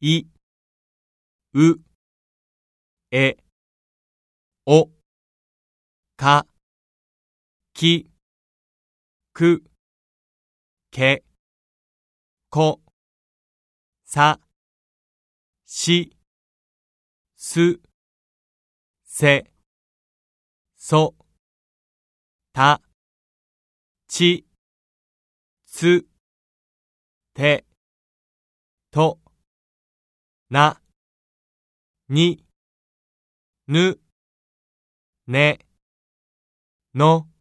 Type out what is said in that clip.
い、う、え、お、か、き、く、け、こ、さ、し、す、せ、そ、た、ち、つ、て、と、な、に、ぬ、ね、の、